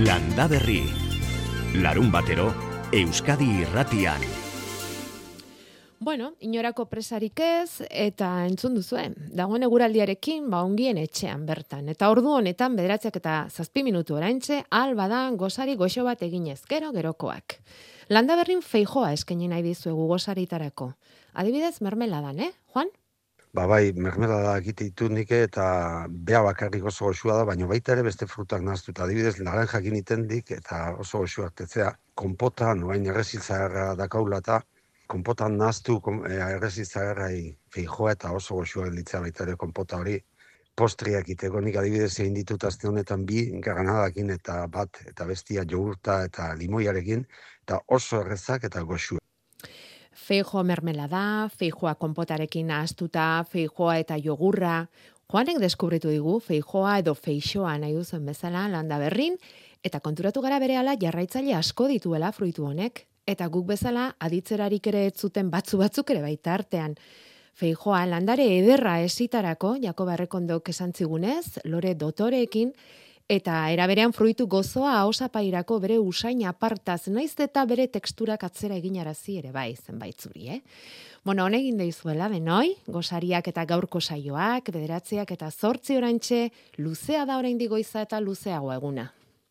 Landa Berri. Larunbatero, Euskadi Irratian. Bueno, inorako presarik ez, eta entzun duzue, dagoen eguraldiarekin, ongien etxean bertan. Eta ordu honetan, 9:07 minutu oraintxe, albadan gozari goxo bat eginez, gerokoak. Landa Berrin Feijoa eskaini nahi dizuegu gozaritarako. Adibidez, mermeladan, Juan? Bai, mermelada egite ditu nik eta bea bakarrik oso goxua da, baina baita ere beste frutak nahaztuta. Adibidez, laranjak itendik eta oso goxuak tetzea. Konpota, noain erreziltzagarra dakaula eta konpotan nahaztu erreziltzagarrai Feijoa eta oso goxua gelditzea baita ere konpota hori. Postriak iteko nik adibidez egin ditut aste honetan bi granadakin eta bat eta bestia jogurta eta limoiarekin eta oso errezak eta goxua. Feijoa mermelada, feijoa konpotarekin nahaztuta, feijoa eta jogurra. Juanek deskubritu digu feijoa edo feixoa nahi duzen bezala Landa Berrin, eta konturatu gara berehala jarraitzaile asko dituela fruitu honek, eta guk bezala aditzerarik ere ez zuten batzuk ere baita artean. Feijoa landare ederra esitarako, Jakob Errekondok esan zigunez, Lore Dotoreekin, eta eraberean fruitu gozoa ahosapairako bere usain apartaz, naiz eta bere teksturak atzera eginarazi ere bai zenbait zuri, Bueno, honegin deizuela denoi, gozariak eta gaurko saioak, 9 eta 8 oraintxe, luzea da oraindik goiza eta luzeago eguna.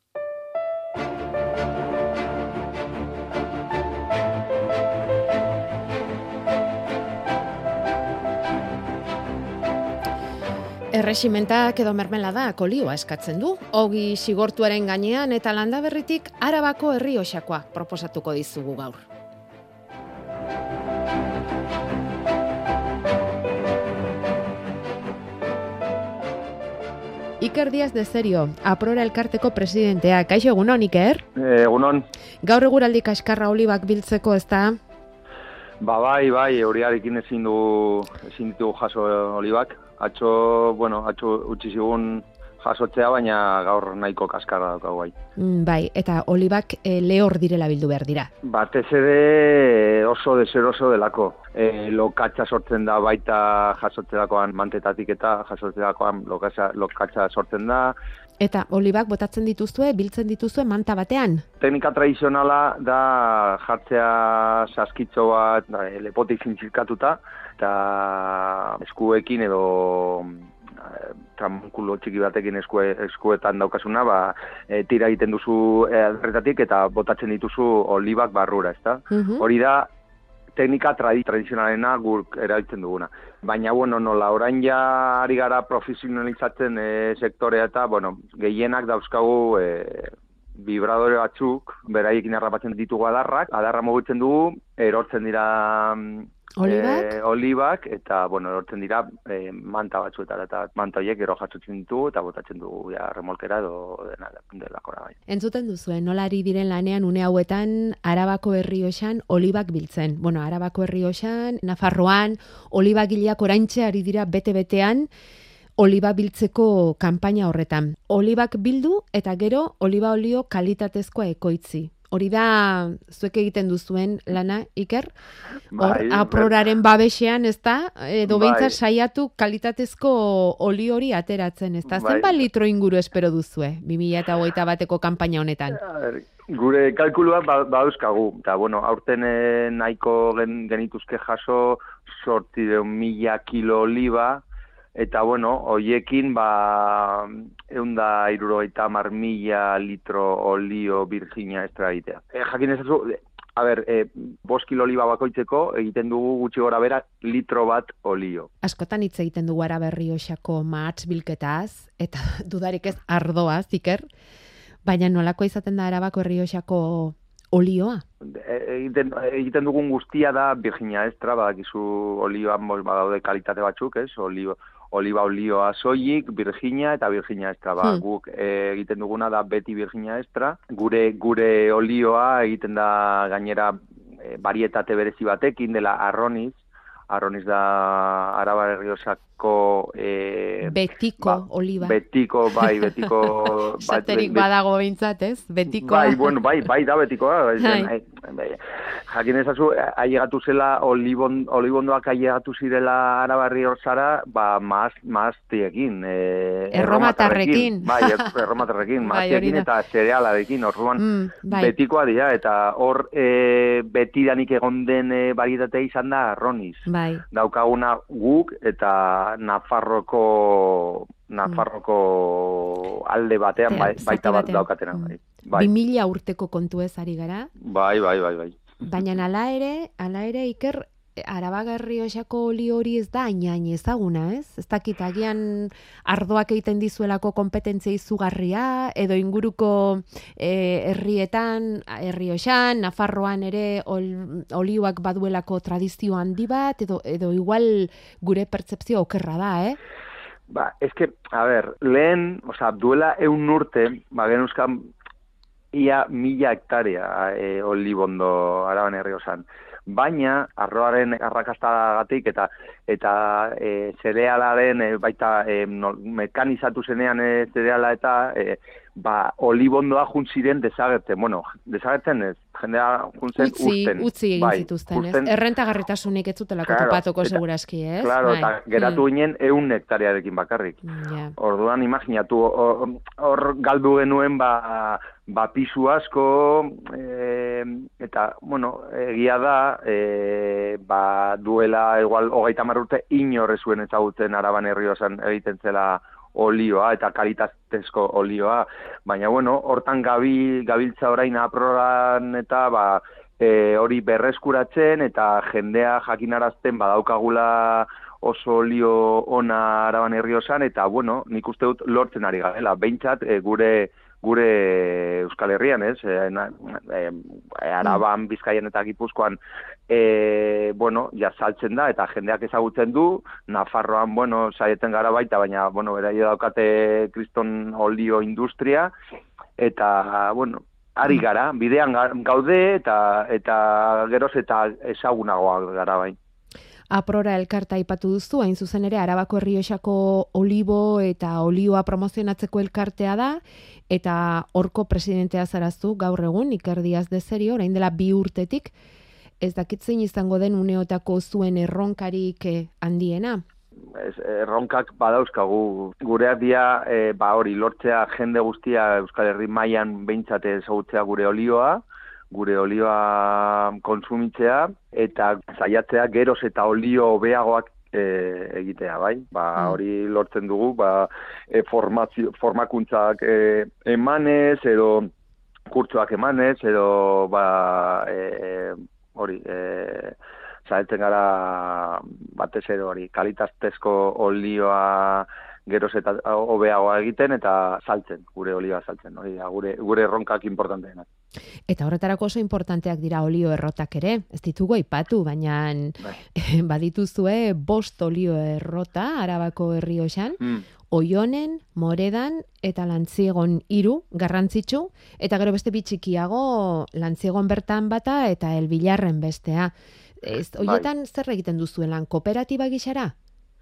Erreximentak edo mermeladak olioa eskatzen du, ogi sigortuaren gainean eta Landa Berritik Arabako Errioxakoa proposatuko dizugu gaur. Iker Díaz de Serio, Aprora elkarteko presidentea. Kaixo, egunon, Iker? Egunon. Gaur eguraldi kaskarra olibak biltzeko, ez da? Bai, horiarekin ezin ditugu jaso olibak. Atxo utzi zigun jasotzea, baina gaur nahiko kaskarra daukagu bai. Bai, eta olibak lehor direla bildu behar dira. Batez ere oso deseroso delako. Lokatza sortzen da baita jasotzerakoan mantetatik eta jasotzerakoan lokatza sortzen da. Eta olibak botatzen dituzue, biltzen dituzue manta batean? Teknika tradizionala da jartzea saskitxo bat lepotik zintzilkatuta, eta eskuekin edo tramunkulo txiki batekin eskuetan daukasuna, tira egiten duzu alderretatik eta botatzen dituzu olibak barrura, ezta? Hori da teknika tradizionalena guk erabiltzen duguna. Baina, nola, orain ja ari gara profesionalizatzen sektorea eta, gehienak dauzkagu vibradore batzuk, beraiekin harrapatzen ditugu adarra mugitzen dugu, erortzen dira olibak, eta, erortzen dira manta batzuetara, eta manta horiek gero jasotzen ditugu, eta botatzen dugu remolkera edo delakora bai. Entzuten duzue, nola ari diren lanean une hauetan Arabako Errioxan olibak biltzen. Arabako Errioxan, Nafarroan, olibagileak oraintxe ari dira bete-betean, oliba biltzeko kanpaina horretan. Olibak bildu eta gero oliba olio kalitatezkoa ekoitzi. Hori da, zuek egiten duzuen lana, Iker? Aproraren babesean, ez da? Edo behintzat saiatu kalitatezko oli hori ateratzen, ez da? Zenbat litro inguru espero duzue, 2021ko kanpaina honetan? Gure kalkuluak badauzkagu. Eta, aurten nahiko genituzke jaso 800.000 kilo oliba, eta, hoiekin, 170.000 litro olio Virginia extra egitea. Jakin ezazu, 5 kilo oliba bakoitzeko egiten dugu gutxi gora bera litro bat olio. Askotan hitz egiten dugu Araba Errioxako mahats bilketaz, eta dudarik ez ardoaz, Iker, baina nolako izaten da Arabako Errioxako olioa? Egiten dugun guztia da Virginia extra, badakizu olioan badaude kalitate batzuk, ez? Oliba olioa soilik, Virginia eta Virginia extra. Guk egiten duguna da beti Virginia extra. Gure olioa egiten da gainera varietate berezi batekin dela Arroniz. Arroniz da Araba Errioxako betiko oliba. Betiko. Zaterik badago behintzat, ez? Betiko. Bai da betikoa. jakin ezazu, ailegatu zela, olibondoak ailegatu zirela Arabarri Orzara, maaztiekin. Erromatarrekin. Bai, erromatarrekin, maaztiekin eta zerealarekin, orduan betikoa dira, eta hor betidanik egon den barietate izan da arroniz. Bai. Daukaguna guk eta Nafarroko alde batean baita bat daukatena. Bai. 2000 urteko kontu ez ari gara. Bai. Baina hala ere, Iker, Araba Errioxako oli hori ez da hain ezaguna, ez? Ez dakit, agian ardoak egiten dizuelako kompetentzia izugarria, edo inguruko herrietan, Errioxan, Nafarroan ere olioak baduelako tradizio handi bat, edo igual gure pertzepzio okerra da, lehen, duela 100 urte, genuzkan ia 1000 hektarea olibondo Araban Errioxan. Baina, arroaren arrakastagatik eta zerealaren baita mekanizatu zenean zereala eta olibondoa juntziren desagertzen. Bueno, desagertzen ez, jendea juntzen usten. Utzi egin zituzten, ez? Errentagarritasunik ez zutelako topatuko seguraski, ez? Claro, eta geratu ginen 100 hektarearekin bakarrik. Orduan, imaginatu, hor galdu genuen pisu asko, eta, egia da, duela, igual, 30 urte, inorre zuen ezagutzen Araban Errioxan egiten zela olioa eta kalitatezko olioa, baina hortan gabiltza orain aproran eta hori berreskuratzen eta jendea jakinarazten badaukagula oso olio ona Araban Errioxan eta nik uste dut lortzen ari garela, behintzat gure Euskal Herrian, ez? Araban, Bizkaian eta Gipuzkoan saltzen da, eta jendeak ezagutzen du, Nafarroan, saieten gara baita, baina, beraio daukate kriston olio industria, eta, ari gara, bidean gaude, eta geroz eta ezagunagoa gara bain. Aprora elkarta aipatu duzu, hain zuzen ere Arabako Errioxako olibo eta olioa promozionatzeko elkartea da, eta horko presidentea zarazu gaur egun, Iker Diaz de Serio, orain dela 2 urtetik, ez dakitzein izango den uneotako zuen erronkarik handiena? Erronkak badauzkagu, gureak dira hori lortzea jende guztia Euskal Herri mailan behintzat ezagutzea gure olioa kontsumitzea eta saiatzea geroz eta olio hobeagoak egitea, bai? Hori lortzen dugu, formakuntzak emanez, edo kurtsoak emanez, edo hori, saiatzen gara batez ere hori, kalitatezko olioa geroz eta hobeagoa egiten eta saltzen, gure olioa saltzen, hori da, gure erronkak importanteenak. Eta horretarako oso importanteak dira olio errotak ere, ez ditugu aipatu, baina badituzue 5 olio errota Arabako Errioxan, Oionen, Moredan eta Lantziegon 3 garrantzitsu, eta gero beste bitxikiago Lantziegon bertan bata eta Elbilarren bestea. Horietan zer egiten duzuelan, kooperatiba gixara?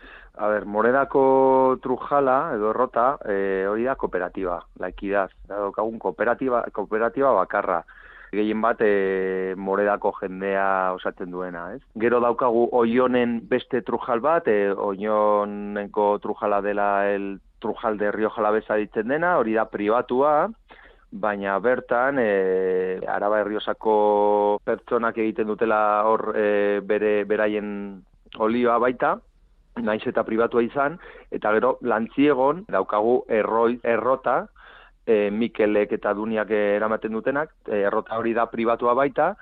Moredako trujala edo errota, hori da kooperatiba, laikidaz. Daukagun kooperatiba bakarra. Gehien bat Moredako jendea osatzen duena, ez? Gero daukagu Oionen beste trujal bat, Oionenko trujala dela el trujal de Rio Jalavesa ditzen dena, hori da pribatua, baina bertan Araba Errioxako pertsonak egiten dutela hor beraien olioa baita, naiz eta pribatua izan, eta gero Lantziegon daukagu errota, Mikelek eta Duniak eramaten dutenak, errota hori da pribatua baita,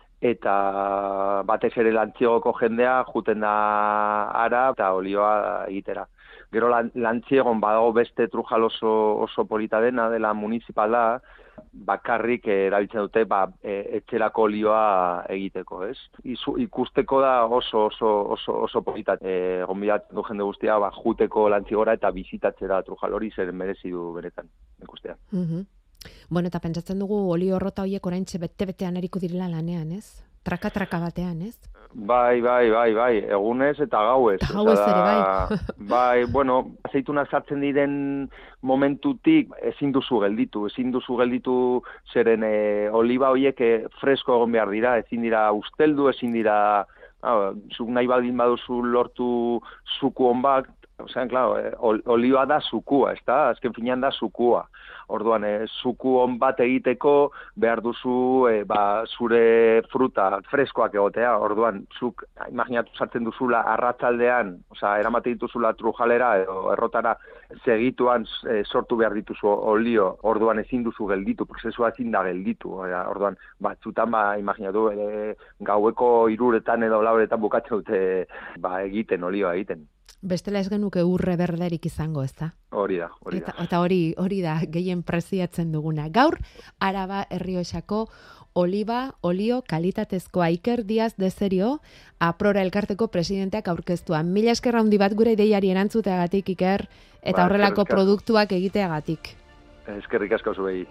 eta batez ere Lantziegoko jendea juten da ara eta olioa egitera. Gero Lantziegon badago beste trujal oso polita dela municipala, bakarrik erabiltzen dute etxerako olioa egiteko, ez? Ikusteko da oso polita. Gonbidatzen du jende guztia juteko Lantziegora eta bizitatzera trujal hori zer merezi du beretan ikustea. Bueno, eta pentsatzen dugu olio errota horiek oraintxe bete-betean eriko direla lanean, ez? Traka batean, ez? Bai, egunez eta gauez. Gauez ere, bai. Bai, bueno, aceitunak sartzen diren momentutik ezin duzu gelditu zeren oliba horiek fresko egon behar dira, ezin dira usteldu, ezin dira, zuk nahi baldin baduzu lortu zuku on bat, claro, oliba da zukua, ezta? Azken finean da zukua. Orduan, zuku on bat egiteko behar duzu zure fruta freskoak egotea. Orduan, zuk imaginatu sartzen duzula arratsaldean, eramate dituzula trujalera edo errotara segituan sortu behar dituzu olio. Orduan ezin duzu gelditu, prozesua ezin da gelditu. Orduan, batzutan imaginatu gaueko 3 edo 4 bukatzen dute egiten olioa egiten. Bestela ez genuke urre berderik izango, ez da? Hori da. Eta hori da gehien preziatzen duguna. Gaur, Araba Errioxako oliba, olio, kalitatezkoa Iker Diaz de Serio, Aprora elkarteko presidenteak aurkeztua. Mila esker handi bat gure ideiari erantzuteagatik, Iker, eta horrelako produktuak egiteagatik. Eskerrik asko zuei.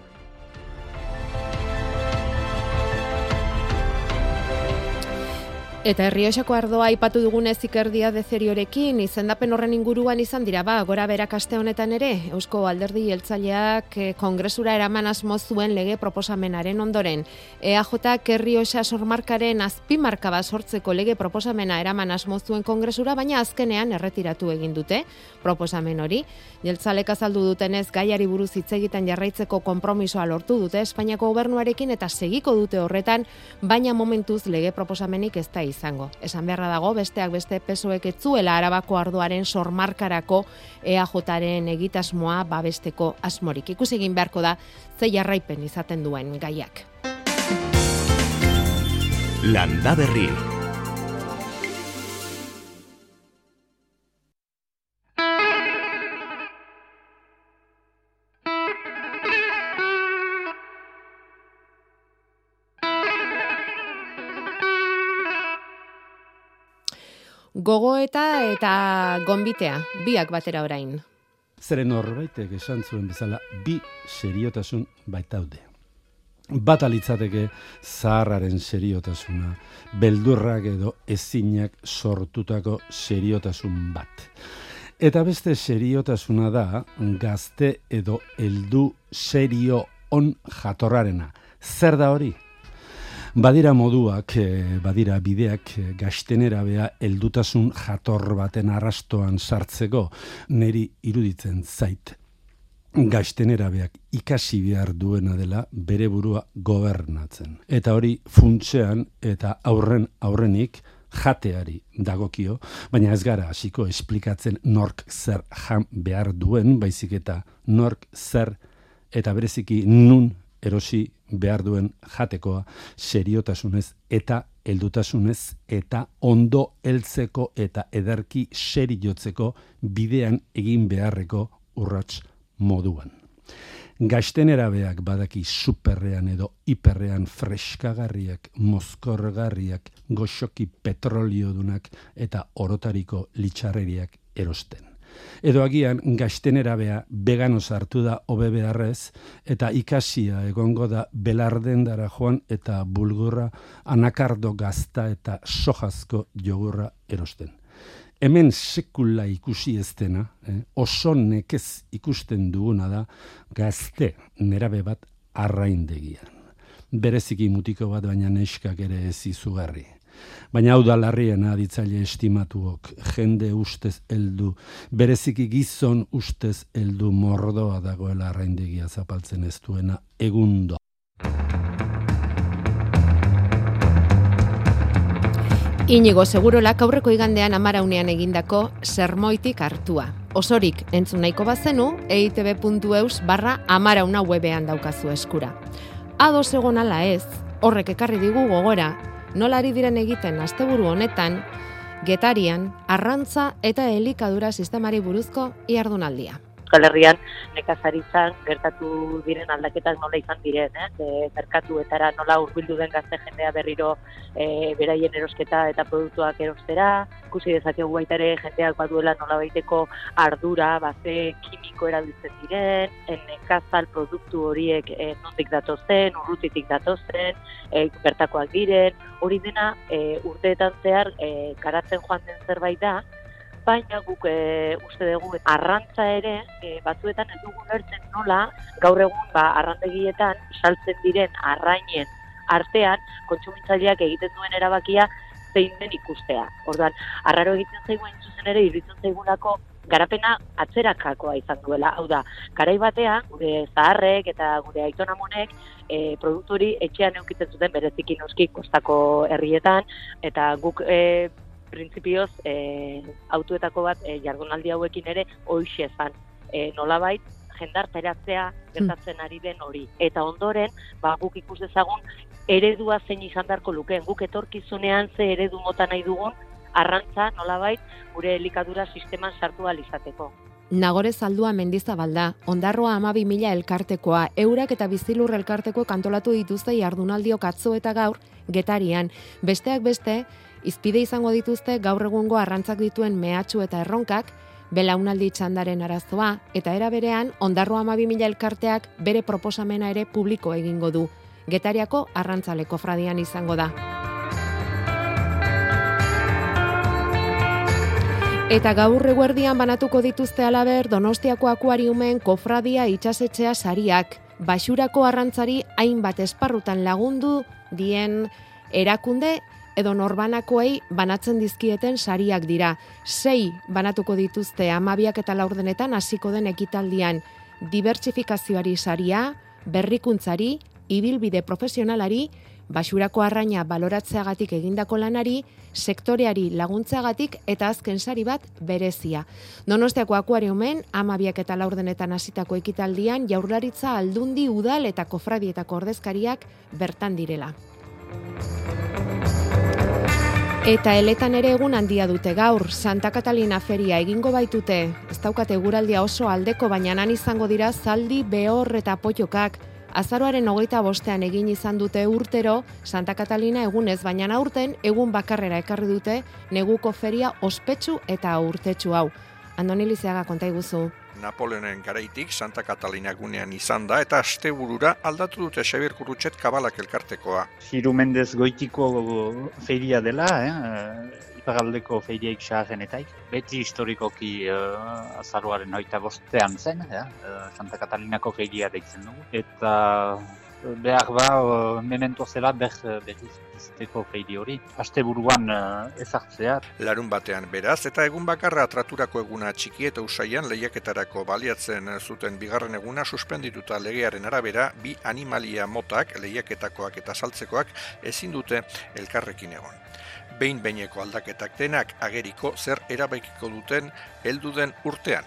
Eta Errioxako ardoa aipatu dugunez Iker Diaz de Seriorekin, izendapen horren inguruan izan dira, gora berak aste honetan ere, Eusko Alderdi Jeltzaleak kongresura eraman asmo zuen lege proposamenaren ondoren. EAJak Errioxa sormarkaren azpimarka bat sortzeko lege proposamena eraman asmo zuen kongresura, baina azkenean erretiratu egin dute proposamen hori. Jeltzalek azaldu dutenez gaiari buruz hitz egiten jarraitzeko konpromisoa lortu dute Espainiako gobernuarekin eta segiko dute horretan, baina momentuz lege proposamenik ez da izango. Esan beharra dago, besteak beste PSOEk ez zuela Arabako ardoaren sormarkarako EAJaren egitasmoa babesteko asmorik. Ikusi egin beharko da ze jarraipen izaten duen gaiak. Landa Berri. Gogoeta eta gonbitea, biak batera orain. Zeren horbaitek esan zuen bezala, bi seriotasun baitaude. Bat alitzateke zaharraren seriotasuna, beldurrak edo ezinak sortutako seriotasun bat. Eta beste seriotasuna da, gazte edo heldu serio on jatorrarena. Zer da hori? Badira moduak, badira bideak gaztenera bea heldutasun jator baten arrastoan sartzeko, niri iruditzen zait. Gaztenera beak ikasi behar duena dela bere burua gobernatzen. Eta hori funtsean eta aurrenik jateari dagokio, baina ez gara hasiko esplikatzen nork zer jan behar duen, baizik eta nork zer eta bereziki nun erosi behar duen jatekoa seriotasunez eta heldutasunez eta ondo heltzeko eta ederki seriotzeko bidean egin beharreko urrats moduan. Gaztenerabeak badaki superrean edo hiperrean freskagarriak, mozkorgarriak, goxoki petroliodunak eta orotariko litxarreriak erosten. Edo agian gaztenerabea vegano sartu da hobe beharrez eta ikasia egongo da belardendara joan eta bulgurra, anakardo gazta eta sojazko jogurra erosten. Hemen sekula ikusi ez dena, oso nekez ikusten duguna da gazte nerabe bat arraindegian. Bereziki mutiko bat baina neskak ere ez izugarri. Baina hau da larriena aditzaile estimatuok, jende ustez heldu, bereziki gizon ustez heldu mordoa dagoela arraindegia zapaltzen ez duena egundo. Inigo Segurolak aurreko igandean Amaraunean egindako sermoitik hartua. Osorik entzun nahiko bazenu, eitb.eus/amarauna webean daukazu eskura. Ados egon ala ez, horrek ekarri digu gogora, nola ari diren egiten asteburu honetan, Getarian, arrantza eta elikadura sistemari buruzko ihardunaldia. Euskal Herrian nekazaritzan gertatu diren aldaketak nola izan diren, merkatuetara nola hurbildu den gazte jendea berriro beraien erosketa eta produktuak erostera, ikusi dezakegu baita ere jendeak baduela nola baiteko ardura, ze kimiko kimiko erabiltzen diren, nekazal produktu horiek nondik datozen, urrutitik datozen, bertakoak diren, hori dena urteetan zehar garatzen joan den zerbait da, baina guk uste dugu arrantza ere batzuetan ez dugu ulertzen nola gaur egun arrandegietan saltzen diren arrainen artean kontsumitzaileak egiten duen erabakia zein den ikustea. Orduan, arraro egiten zaigu hain zuzen ere iruditzen zaigulako garapena atzerakakoa izan duela. Hau da, garai batean gure zaharrek eta gure aitonamonek produktu hori etxean eukitzen zuten bereziki noski kostako herrietan eta guk printzipioz autoetako bat jardunaldi hauekin ere hoixe zan nolabait jendarteratzea gertatzen ari den hori. Eta ondoren, guk ikus dezagun eredua zein izan beharko lukeen. Guk etorkizunean ze eredu mota nahi dugun arrantza nolabait gure elikadura sisteman sartu ahal izateko. Nagore Zaldua Mendizabalda, Ondarroa 12.000 elkartekoa, Eurak eta Bizilur elkartekoek antolatu dituzte jardunaldiok atzo eta gaur Getarian. Besteak beste, izpide izango dituzte gaur egungo arrantzak dituen mehatxu eta erronkak, belaunaldi txandaren arazoa, eta era berean, Ondarroa 12.000 elkarteak bere proposamena ere publiko egingo du. Getariako arrantzaleko fradian izango da. Eta gaur eguerdian banatuko dituzte halaber Donostiako akuariumen kofradia itsasetxea sariak. Baxurako arrantzari hainbat esparrutan lagundu dien erakunde edo norbanakoei banatzen dizkieten sariak dira. 6 banatuko dituzte 12 eta 4 hasiko den ekitaldian. Dibertsifikazioari saria, berrikuntzari, ibilbide profesionalari, baxurako arraina baloratzeagatik egindako lanari, sektoreari laguntzeagatik eta azken sari bat berezia. Donostiako akuariumen 12 eta 4 hasitako ekitaldian Jaurlaritza, Aldundi, Udal eta Kofradietako ordezkariak bertan direla. Eta eletan ere egun handia dute gaur, Santa Catalina feria egingo baitute. Ez daukate eguraldia oso aldeko, baina han izango dira zaldi, behor eta potokak. Azaroaren 25ean egin izan dute urtero Santa Catalina egunez, baina aurten egun bakarrera ekarri dute neguko feria ospetsu eta urtetsu hau. Andoni Lizeaga, konta iguzu. Napoleonen garaitik Santa Catalina gunean izan da eta asteburura aldatu dute Xabier Kurrutxet Kabalak elkartekoa. Hiru Mendez Goitiko feria dela, iparraldeko feriaik xaharrenetaik. Beti historikoki azaroaren 25ean zen, Santa Catalinako feria deitzen dugu. Eta behar memento zela berrizteko feiri hori. Asteburuan ezartzea. Larun batean beraz, eta egun bakarra traturako eguna txiki eta usaian lehiaketarako baliatzen zuten bigarren eguna suspendituta legearen arabera, 2 animalia motak, lehiaketakoak eta saltzekoak ezin dute elkarrekin egon. Behin-behineko aldaketak denak ageriko zer erabaikiko duten heldu den urtean.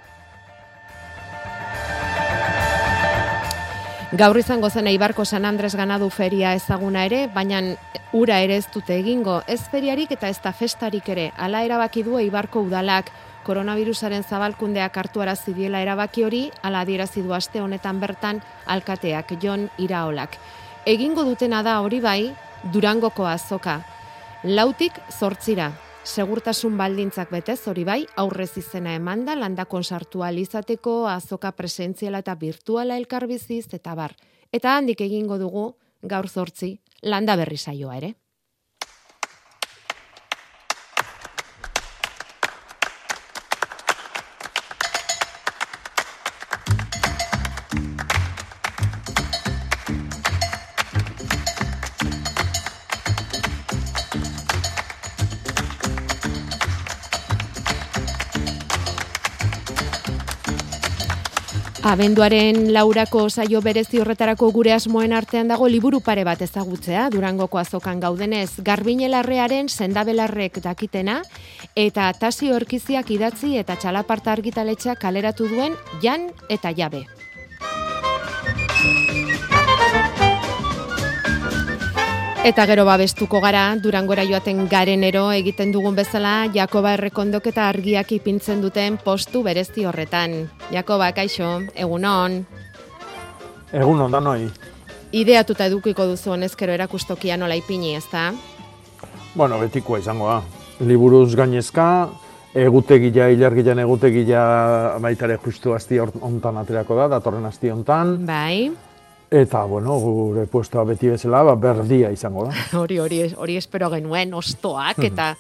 Gaur izango zen Eibarko San Andres Ganadu feria ezaguna ere, baina ura ere ez dute egingo, ez feriarik eta ez da festarik ere. Hala erabaki du Eibarko udalak, koronavirusaren zabalkundeak hartuarazi diela erabaki hori, hala adierazi du aste honetan bertan alkateak Jon Iraolak. Egingo dutena da hori bai, Durangoko azoka. 4tik 8, segurtasun baldintzak betez hori bai, aurrez izena emanda, landakon sartu ahal izateko, azoka presentziala eta virtuala elkarbiziz eta bar. Eta handik egingo dugu, gaur 8, landa berri saioa ere. Abenduaren 4ko saio berezi horretarako gure asmoen artean dago liburu pare bat ezagutzea, Durangoko azokan gaudenez, Garbiñelarrearen Sendabelarrek dakitena, eta Tasio Erkiziak idatzi eta Txalaparta argitaletxeak kaleratu duen Jan eta Jabe. Eta gero babestuko gara, Durangora joaten garenero egiten dugun bezala, Jakoba Errekondok eta argiak ipintzen duten postu berezi horretan. Jakoba, kaixo, egunon. Egunon, danoi. Ideatuta edukiko duzu honezkero erakustokia nola ipini, ezta? Bueno, betikoa izango da. Liburuz gainezka, Egutegia, ilargian egutegia baitare justu asti hontan aterako da, datorren asti hontan. Bai. Eta, bueno, gure puestoa beti bezala, berdia izango da. Hori espero genuen, ostoak, eta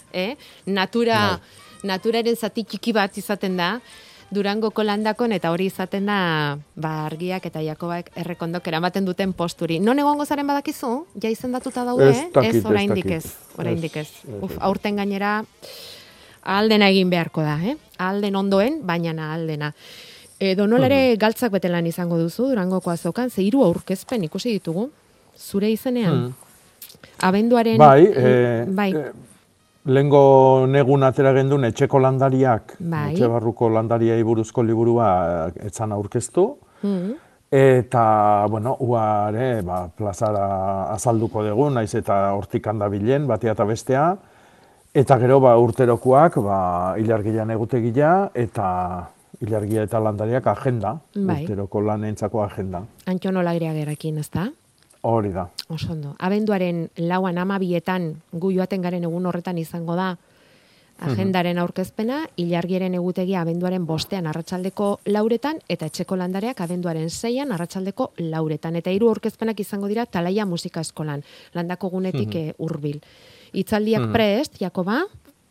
naturaren zati txiki bat izaten da, Durangoko landakon, eta hori izaten da, Argiak eta Jakobak errekondok eramaten duten posturi. Non egongo zaren badakizu? Ja izendatuta daude, oraindik ez. Aurten gainera, ahaldena egin beharko da, ahalden ondoen, baina ahaldena. Nola ere galtzak betelan izango duzu, Durangoko azokan, 3 aurkezpen ikusi ditugu, zure izenean. Abenduaren... Bai. Lehengo negun atera gendun etxeko landariak, etxe barruko landariai buruzko liburua etzan aurkeztu. Eta, bueno, uare, plazara azalduko dugu, naiz eta hortik handabilen, batea eta bestea. Eta gero, urterokoak, ilargian egutegia, eta ilargia eta landariak agenda, urteroko lanentzako agenda. Antxon Olagriagerakin, ez da? Hori da. Osondo. Abenduaren 4 12 gu joaten garen egun horretan izango da agendaren aurkezpena, ilargiaren egutegia abenduaren 5 arratsaldeko 4 eta etxeko landareak abenduaren 6 arratsaldeko 4. Eta 3 aurkezpenak izango dira Talaia Musika Eskolan, landako gunetik hurbil. Hitzaldiak prest, Jakoba?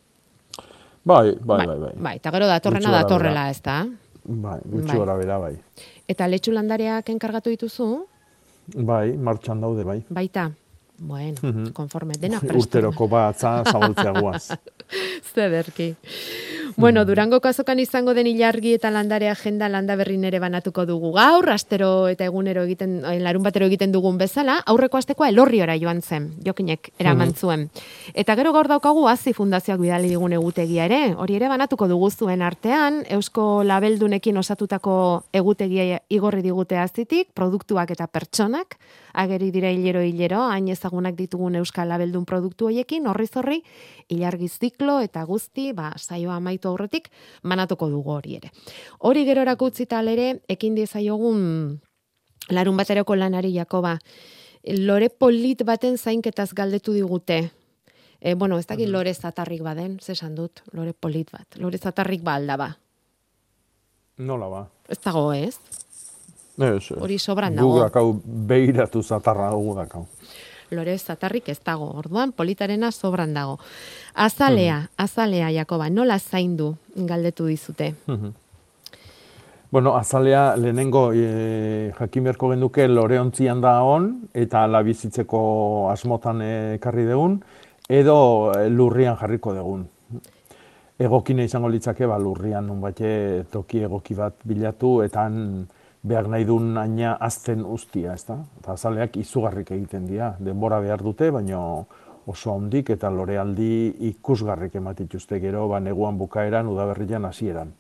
Bai. Eta gero datorrela, ez da? Bai, gutxi gora bera, bai. Eta letxu landareak enkargatu dituzu? Bai, martxan daude, bai. Baita, bueno, konforme, dena prestu. Urteroko batza zabaltzea guaz. Zederki. Bueno, Durangoko azokan izango den ilargi eta landare agenda landaberrin ere banatuko dugu gaur, astero eta egunero larun batero egiten dugun bezala, aurreko astekoa Elorriora joan zen, Jokinek eraman zuen. Eta gero gaur daukagu Hazi Fundazioak bidali digun egutegia ere, hori ere banatuko dugu zuen artean, Eusko Labeldunekin osatutako egutegia igorri digute Hazitik, produktuak eta pertsonak, ageri dira hilero, hain ezagunak ditugun Euskal Labeldun produktu hoiekin, horri, ilargi ziklo eta guzti, saioa amaitu aurretik, manatuko dugu hori ere. Hori gerorako utzita ere, ekin diezaiogun larun bateroko lanari Jakoba. Lore polit baten zainketaz galdetu digute. Ez dakit lore zatarrik baden, zesan dut, lore polit bat. Lore zatarrik alda ba. Nola ba? Ez dago, ez? Ez. Hori sobran dago. Gugakau behiratu zatarra gugakau. Lore zatarrik ez dago, orduan politarena sobran dago. Azalea, Jakoba, nola zaindu galdetu dizute? Bueno, azalea lehenengo jakimerko genduke loreontzian da on, eta ala bizitzeko asmotan ekarri degun, edo lurrian jarriko degun. Egokine izango litzake, lurrian nunbait toki egoki bat bilatu, eta behar nahi duen aina azten ustia, ez da? Eta azaleak izugarrik egiten dira. Denbora behar dute, baina oso handik eta lorealdi ikusgarrik ematituzte gero, neguan bukaeran, udaberrian hasieran.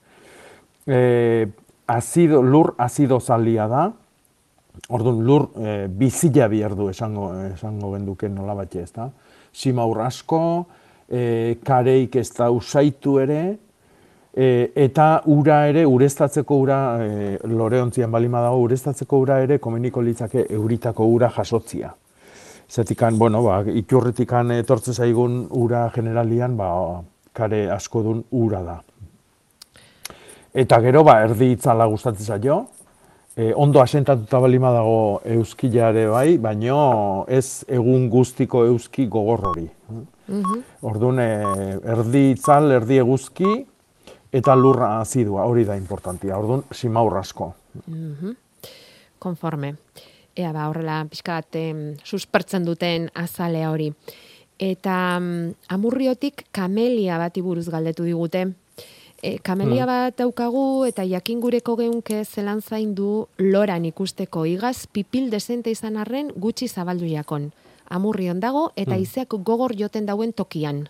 Lur azido zalia da, orduan lur bizila behar du esango genduken nola batxe, ez da? Simaur asko, kareik ez da usaitu ere, eta ura ere, ureztatzeko ura, loreontzian balima dago, ureztatzeko ura ere, komeniko litzake euritako ura jasotzia. Zetikan, iturritikan etortze zaigun ura generalian, kare asko dun ura da. Eta gero, erdi itzala gustatzen zaio, ondo asentatuta balima dago euskilare bai, baino ez egun guztiko euski gogor hori. Orduan, erdi itzal, erdi eguzki, eta lurra azidua, hori da importantia. Orduan, simaur asko. Konforme. Ea horrela pixkat suspertzen duten azalea hori. Eta Amurriotik kamelia bati buruz galdetu digute. Kamelia bat daukagu eta jakin gureko geunke zelan zaindu loran ikusteko igaz pipil desente izan arren gutxi zabaldu jakon. Amurrion dago eta izeak gogor joten dauen tokian.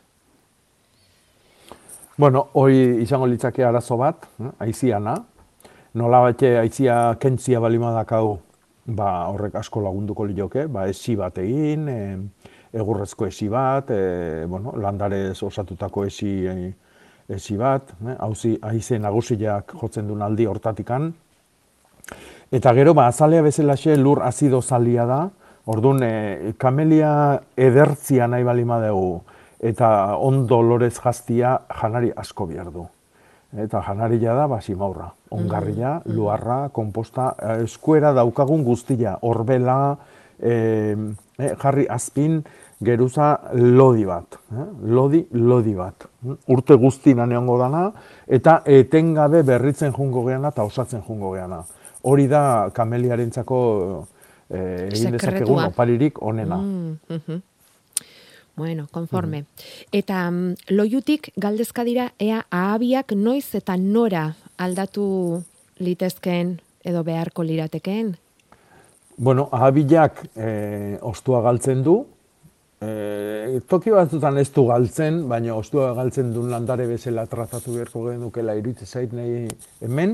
Bueno, hori izango litzake arazo bat, aiziana. Nola bate aizia kentzia balima dakau, horrek asko lagunduko lioke, esi bat egin, egurrezko esi bat, landarez osatutako esi bat, aize nagusiak jotzen duen aldi hortatikan. Eta gero, azalea bezalaxe lur azido zalia da, orduan, kamelia edertzia nahi balima dugu, eta ondo lorez jaztia janari asko behar du. Eta janaria da, simaurra. Ongarria, luarra, komposta, eskuera daukagun guztia, orbela, jarri azpin, geruza lodi bat. Lodi bat. Urte guztina neongo dana, eta etengabe berritzen jungo geana eta osatzen jungo geana. Hori da kameliarentzako egin dezakegun oparirik onena. Bueno, konforme. Eta loiutik galdezka dira ea ahabiak noiz eta nora aldatu litezkeen edo beharko liratekeen? Bueno, ahabiak ostua galtzen du. Toki batzutan ez du galtzen, baina ostua galtzen duen landare bezala tratatu beharko genukela iruditzen zait nahi hemen.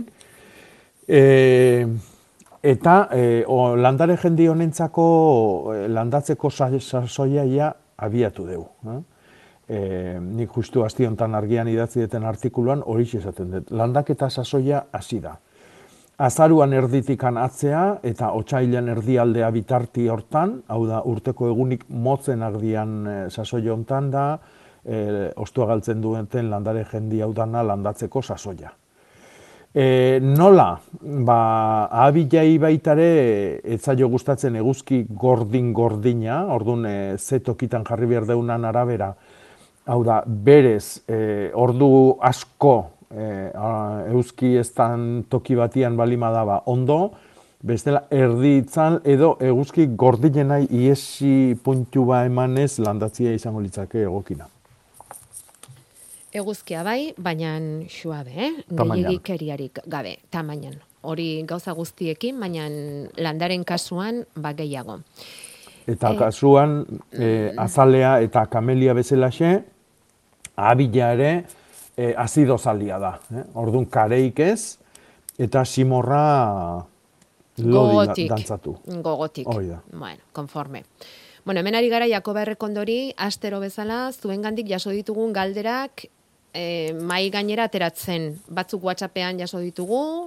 Eta landare jendi honentzako landatzeko sasoia abiatu dugu. Nik justu asti hontan argian idatzi duten artikuluan hori esaten dut. Landaketa sasoia hasi da. Azaruan erditikan atzea eta otsailean erdialdea bitarti hortan, hau da urteko egunik motzen ardian sasoia hontan da, ostua galtzen duten landare jendi hau dana landatzeko sasoia. Nola, ahabilai baitare etzaio gustatzen eguzki gordina, orduan ze tokitan jarri behar deunan arabera, hau da, berez, ordu asko eguzki eztan toki batian balima daba ondo, bestela erdi itzal edo eguzki gordinenai iesi puntu ba emanez landatzia izango litzake egokina. Eguzkia bai, baina suabe, gehiagikeriarik gabe, tamainan. Hori gauza guztiekin, baina landaren kasuan gehiago. Eta kasuan, azalea eta kamelia bezalaxe, ahabila ere azido zalia da. Orduan kareik ez, eta simorra lodi dantzatu. Gogotik. Bueno, konforme. Bueno, hemen ari gara Jakoba Errekondori, astero bezala, zuengandik jaso ditugun galderak, mai gainera ateratzen. Batzuk WhatsAppean jaso ditugu,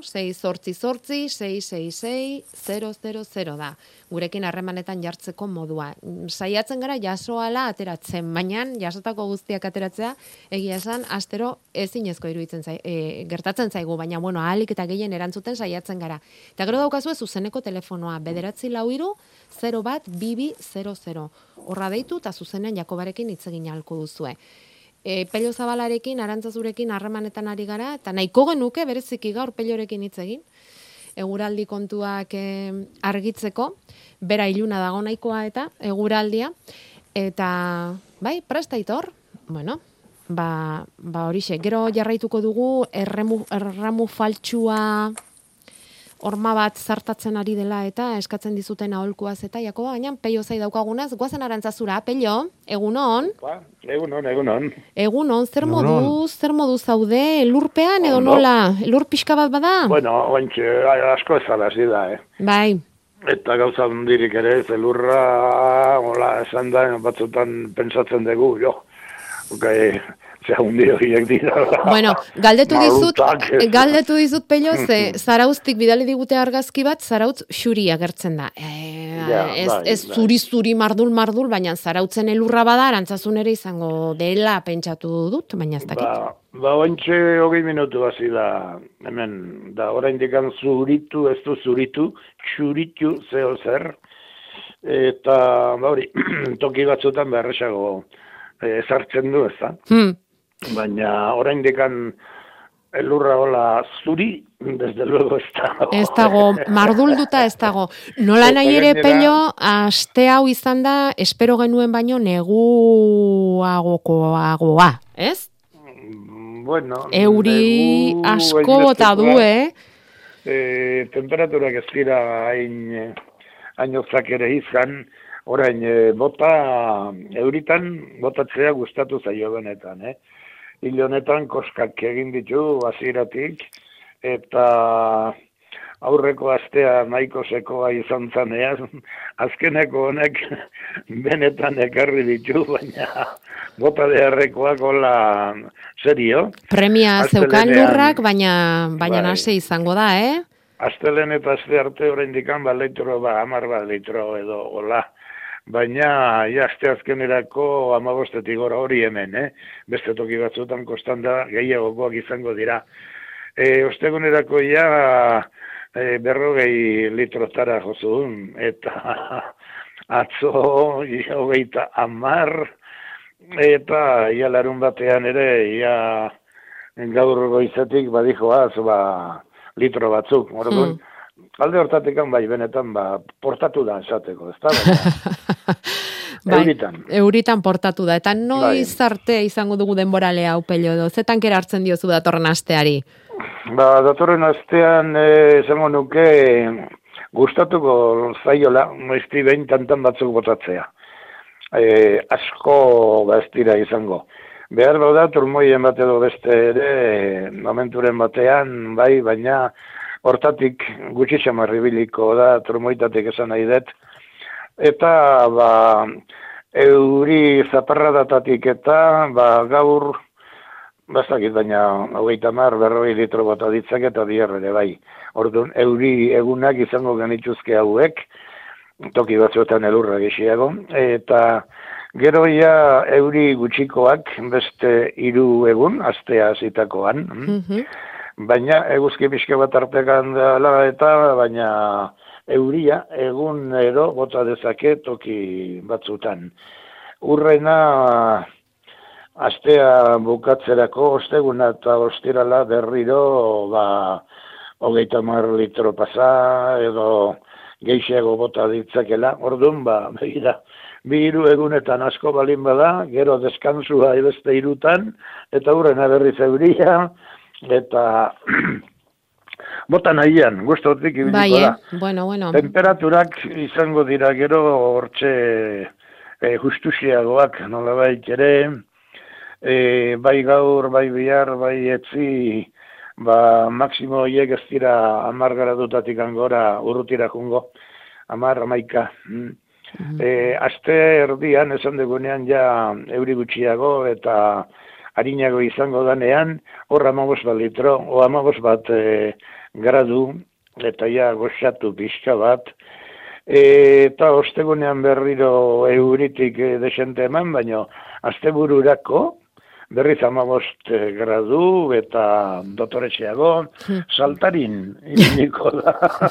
688-666-000 da. Gurekin harremanetan jartzeko modua. Saiatzen gara jasoala ateratzen, baina jasotako guztiak ateratzea, egia esan, astero ezinezko iruditzen gertatzen zaigu, baina bueno, ahalik eta gehien erantzuten saiatzen gara. Eta gero daukazue zuzeneko telefonoa, 943-01-2200. Horra deitu eta zuzenean Jakobarekin hitz egin ahalko duzue. Pello Zabalarekin, Arantzazurekin harremanetan ari gara, eta nahiko genuke bereziki gaur Pellorekin hitz egin, eguraldi kontuak argitzeko, bera iluna dago nahikoa eta eguraldia, eta bai, prestaitor, bueno, horixe, gero jarraituko dugu erramu faltsua horma bat zartatzen ari dela eta eskatzen dizuten aholkuaz eta Jakoba, baina Pello zai daukagunaz, goazen Arantzazura, Pello, egunon? Egunon. Egunon, zer moduz zaude, elurpean edo nola? Elur pixka bat bada? Bueno, ointxe, asko ezala hasi da, Bai. Eta gauza hundirik ere, zelurra, hola, esan da, batzutan pentsatzen dugu, zea hundi horiek dira. Bueno, galdetu dizut Pello, zarauztik bidali digute argazki bat, zarautz xuri agertzen da. Ez zuri mardul, baina zarautzen elurra bada, Arantzazun ere izango dela pentsatu dut, baina ez dakit. Ointxe 20 minutu hasi da, hemen, da oraindik zuritu, ez du zuritu, xuritu zeo zer, eta hori, toki batzutan beharresago ezartzen du, ez da? Baina oraindik elurra hola zuri, desde luego ez dago. Ez dago, mardulduta ez dago. Nola nahi ere, Pello, aste hau izan da, espero genuen baino neguagoa, ez? Bueno, euri asko bota du, Temperaturak ez dira hainozak ere izan, orain euritan botatzea gustatu zaio benetan, Hil honetan koskak egin ditu hasieratik eta aurreko astea nahiko sekoa izan zaneaz, azkeneko honek benetan ekarri ditu, baina bota beharrekoak hola serio. Premia zeukan lurrak, baina nase izango da, Astelen eta aste arte oraindik 10 litro edo hola baina asteazkenerako 15 gora hori hemen, beste toki batzuetan kostanda gehiagokoak izango dira. Ostegunerako ja 40 litrotara jozun, eta atzo 30, eta ia larun batean ere, ia gaur goizetik badijoaz, litro batzuk. Orduan, alde hortatekan bai, benetan, portatu da esateko, ez da? Euritan portatu da. Eta noiz arte izango dugu denboralea hau Pello edo? Zetan kera hartzen diozu datorren asteari? Datorren astean, esango nuke, gustatuko zaiola, noizti behin tantan batzuk botatzea. Asko ez dira izango. Behar bada, turmoien bat edo beste ere, momenturen batean, bai, baina hortatik gutxi xamarribiliko da, turmoitatik esan nahi dut. Eta, euri zaparradatatik eta, gaur, bastakit, baina 30-40 litro bota ditzak eta ere bai. Orduan, euri egunak izango genituzke hauek, toki batzuetan elurra gehiago, eta gero ja euri gutxikoak beste 3 egun, astea hasitakoan. Baina eguzki pixka bat artekan dela eta baina euria egunero bota dezake toki batzutan. Urrena astea bukatzerako osteguna eta ostirala berriro 30 litro pasa edo gehiago bota ditzakela. Orduan, begira, 2 egunetan asko balin bada, gero deskansua beste 3 eta urrena berriz euria, eta bota nahian, gustotik ibiliko da. Bueno. Temperaturak izango dira gero hortxe justusiagoak, nolabait ere, bai gaur, bai bihar, bai etzi, maksimo hiek ez dira 10 gradutatik angora urrutira jungo, 10-11. Aste erdian, esan dugunean ja euri gutxiago eta harinago izango danean, hor 15 litro, o 15 gradu, eta ja goxatu pixka bat, eta ostegunean berriro euritik desente eman, baina astebururako, berriz 15 gradu eta dotoretxeago, saltarin ibiliko da.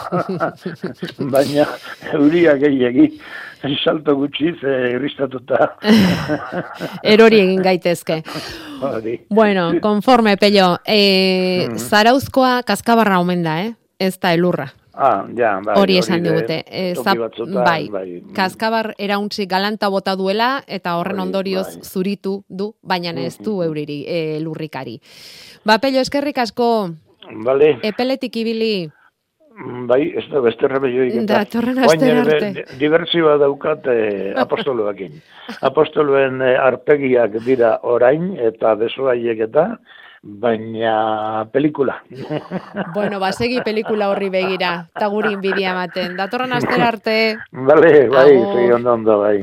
Baina euria gehiagi, salto gutxiz irristatuta. Erori egin gaitezke. Bueno, konforme, Pello. Zarauzkoa kaskabarra omen da, ez da elurra. Hori esan digute. Bai, kaskabar erauntzi galanta bota duela eta horren ondorioz zuritu du, baina ez du euriri lurrikari. Pello, eskerrik asko. Epeletik ibili. Bai, ez da beste remeioik. Datorren aster arte. Diversioa daukat apostoloekin. Apostoloen arpegiak dira orain eta besoaiek eta baina pelikula. Bueno, segi pelikula horri begira, eta guri inbidia ematen. Datorren aster arte. Bai, segi ondo, bai.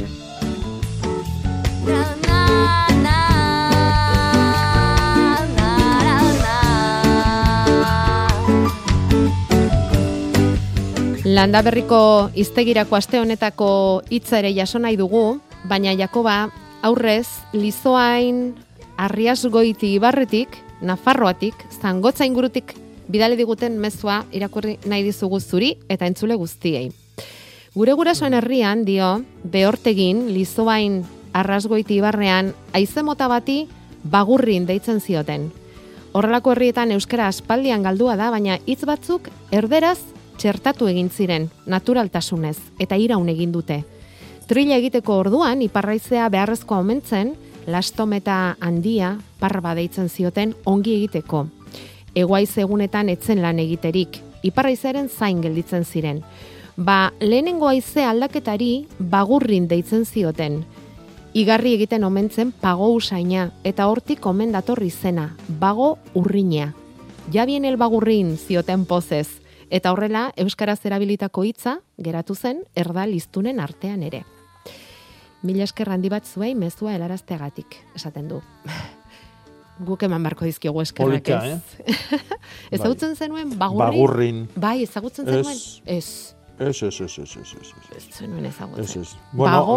Landaberriko hiztegirako aste honetako hitza ere jaso nahi dugu, baina Jakoba, aurrez, Lizoain, Arriasgoiti Ibarretik, Nafarroatik, Zangotza ingurutik bidali diguten mezua irakurri nahi dizugu zuri eta entzule guztiei. Gure gurasoen herrian dio, Behortegin, Lizoain, Arrasgoiti Ibarrean, haize mota bati bagurrin deitzen zioten. Horrelako herrietan euskara aspaldian galdua da, baina hitz batzuk erderaz txertatu egin ziren, naturaltasunez, eta iraun egin dute. Trilla egiteko orduan, iparraizea beharrezkoa omentzen, lastometa handia, parba deitzen zioten ongi egiteko. Egoaiz egunetan etzen lan egiterik, iparraizearen zain gelditzen ziren. Lehenengo haize aldaketari bagurrin deitzen zioten. Igarri egiten omentzen pago usaina, eta hortik omen datorri zena, bago urriña. Ja bien el bagurrin zioten pozez, eta horrela euskaraz erabilitako hitza geratu zen erdal hiztunen artean ere. Mila esker handi bat zuei mezua helarazteagatik, esaten du. Guk eman barko dizkiogu eskerrak, ez? Ezagutzen zenuen bagurrin? Bagurrin. Bai, ezagutzen zenuen? Ez. Ez. Ez zenuen ezagutzen. Ez. Bueno,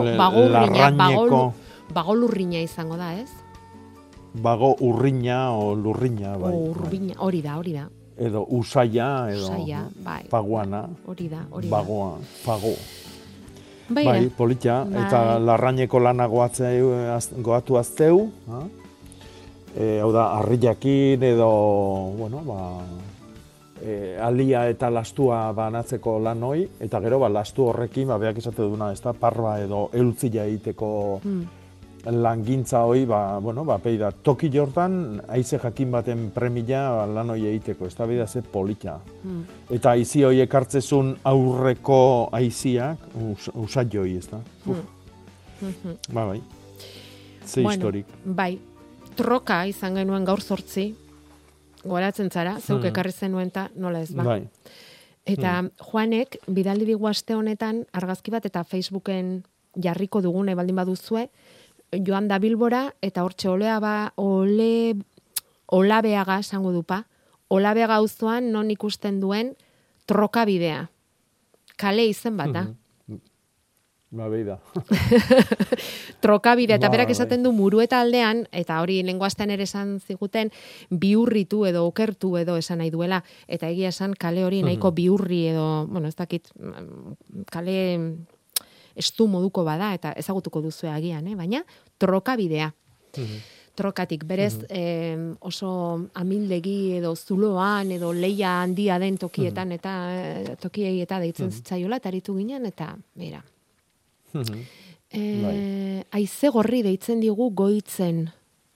bago lurrina izango da, ez? Bago urrina o lurrina, bai. Urrina, hori da. Edo usaia, edo bai. paguana. Hori da. Bagoa, pago. Bai, politia. Bai. Eta larraineko lana goatu azteu. Hau da, harriakin edo, bueno, alia eta lastua banatzeko lan hoi, eta gero, lastu horrekin, beak esate duna, ez da, parba edo eultzila egiteko langintza hoi, peida, toki jortan, haize jakin baten premia lan hoi egiteko, ez da, bida ze polita. Eta haizi hoiek hartzezun aurreko haiziak, usat joi, ez da. Bai. Ze historik. Bai, troka izan genuen gaur 8, goratzen zara, zeuk ekarri zenuen eta nola ez ba. Bai. Eta Juanek, bidaldi digu aste honetan, argazki bat eta Facebooken jarriko dugune baldin baduzue, joan da Bilbora, eta hortxe Olabeaga esango dupa, Olabeaga auzoan non ikusten duen troka bidea. Kale izen bat da. Beida. Trokabide, eta berak esaten du Murueta aldean, eta hori lenguazten ere esan ziguten, biurritu edo okertu edo esan nahi duela, eta egia esan kale hori nahiko biurri edo, bueno, ez dakit, kale estu moduko bada, eta ezagutuko duzu agian, baina trokabidea. Trokatik, berez oso amildegi edo zuloan edo leia handia den tokietan, eta tokiei eta deitzen zitzaiola, eta aritu ginen, eta bera. Aize gorri deitzen digu goitzen.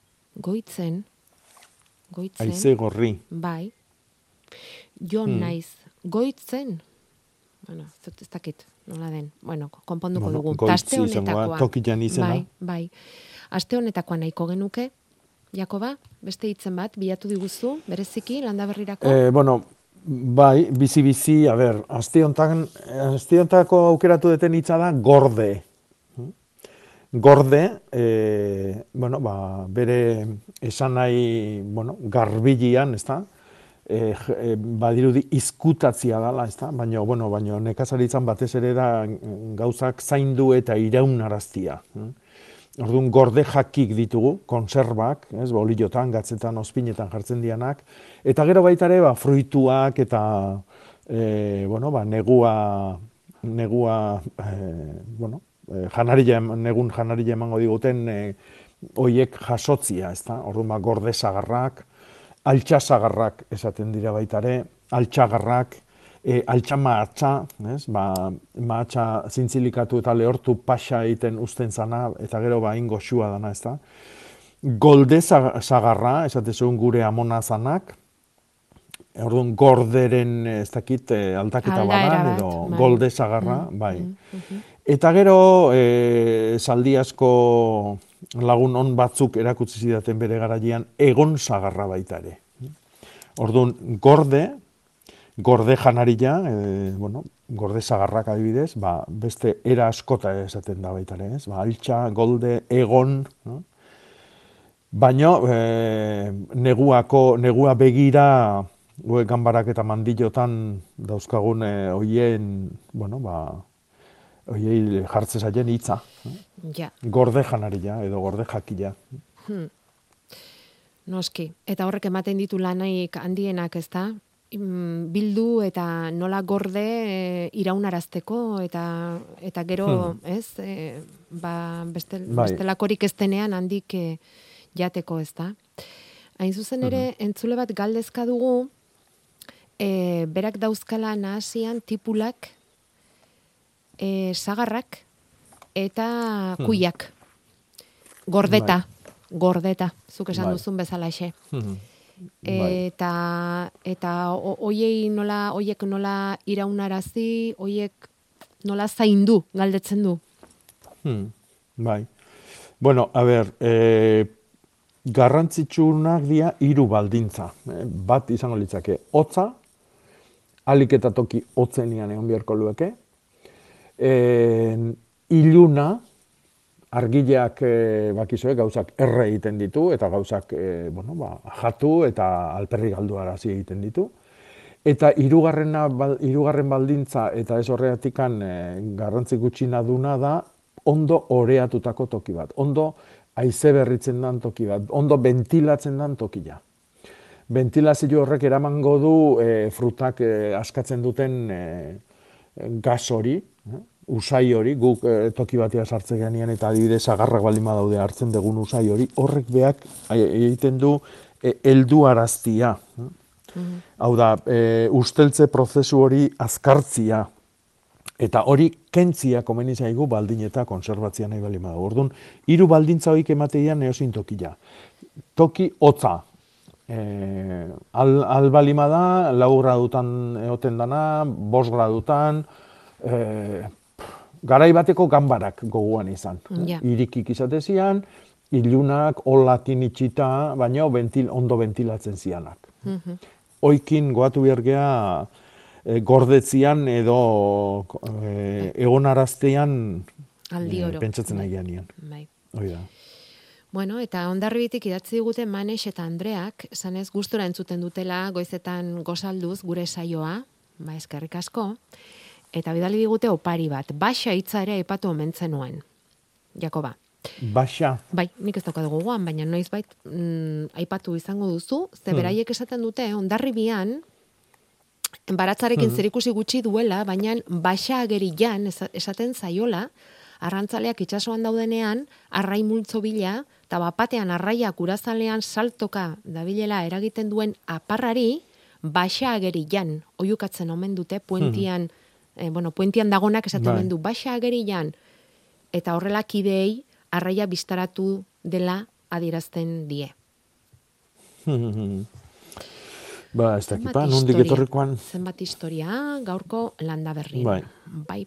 Aize gorri. Bai. Jon naiz. Goitzen. Bueno, ez dakit, nola den. Bueno, konponduko dugu. Goitzi izangoa, tokian izena. Bai. Aste honetakoa nahiko genuke, Jakoba, beste hitzen bat, bilatu diguzu, bereziki, Landaberrirako? Bai, bizi, a ber, aste hontako aukeratu deten hitza da gorde. Gorde, bere esan nahi, garbilian, ez da? Badirudi izkutatzia dela, ez da? Baina nekazaritzan batez ere da gauzak zaindu eta iraunaraztia. Orduan, gorde jakik ditugu, konserbak, bolillotan, gatzetan, ospinetan jartzen dianak, eta gero baita ere, fruituak eta, negun janarilla emango diguten, hoiek jasotzia, ez da? Orduan, gorde sagarrak, altxasagarrak esaten dira baita ere, altxagarrak, altxa mahatxa, mahatxa zintzilikatu eta lehortu pasa egiten usten zana, eta gero ingo xua dana, ez da. Golde zagarra, esatezun gure amona zanak, orduan gorderen, ez dakit, aldaketa badan, edo golde zagarra, bai. Eta gero, zaldi asko lagun on batzuk erakutsi zidaten bere garaian, egon zagarra baita ere. Orduan, gorde janarilla, gorde zagarrak adibidez, beste era askota esaten da baita ere, altxa, golde, egon, baina negua begira, ganbarak eta mandillotan dauzkagun hoien, hoiei jartze zaien hitza. Gorde janarilla edo gorde jakila. Noski, eta horrek ematen ditu lanaik handienak, ez da? Bildu eta nola gorde iraunarazteko eta gero, ez? Bestelakorik ez denean handik jateko, ez da? Hain zuzen ere, entzule bat galdezka dugu, berak dauzkala nahasian tipulak, sagarrak eta kuiak. Gordeta, zuk esan duzun bezalaxe. Eta hoiek nola iraunarazi, hoiek nola zaindu, galdetzen du. Bai. Bueno, a ber, garrantzitsunak dira 3 baldintza. Bat izango litzake, hotza, alik eta toki hotzenian egon beharko lueke. Iluna, argileak bakizue gauzak erre egiten ditu eta gauzak jatu eta alperri galduarazi egiten ditu. Eta hirugarren baldintza, eta ez horregatikan garrantzi gutxina duna da, ondo oreatutako toki bat, ondo haize berritzen dan toki bat, ondo ventilatzen dan tokia. Ventilazio horrek eramango du frutak askatzen duten gas hori, usai hori, guk toki batea sartzen ganean eta adibidez agarrak baldin badaude hartzen dugun usai hori, horrek beak egiten du helduaraztia. Hau da, usteltze prozesu hori azkartzia. Eta hori kentzia komeni zaigu baldin eta konserbatzia nahi baldin badago. Orduan, 3 baldintza horik emateian eozin tokia. Toki hotza. Albalima da, 4 gradutan egoten dana, 5 gradutan, garai bateko ganbarak goguan izan. Irikik izatezian, ilunak, olakin itxita, baina ondo ventilatzen zianak. Oikin goatu bergea gordetzian edo egonaraztean pentsatzen nahi geanian. Hoi da. Bueno, eta Hondarribitik idatzi digute Manex eta Andreak, zanez gustora entzuten dutela goizetan gozalduz gure saioa, eskerrik asko, eta bidali digute opari bat, Baxa hitza ere aipatu omentzen nuen. Jakoba. Baxa? Bai, nik ez daukat gogoan, baina noizbait aipatu izango duzu, ze beraiek esaten dute, Hondarribian, baratzarekin zerikusi gutxi duela, baina Baxa agerian esaten zaiola, arrantzaleak itsasoan daudenean, arrai multzo bila, eta bapatean arraiak urazalean saltoka dabilela eragiten duen aparrari, Baxa agerian, oiukatzen omen dute, puentian dagonak esaten omen du, Baxa agerian, eta horrela kideei arraia biztaratu dela adierazten die. Ba, ez dakipa, nondik etorrikoan. Zenbat historia, gaurko Landaberrin. Bai.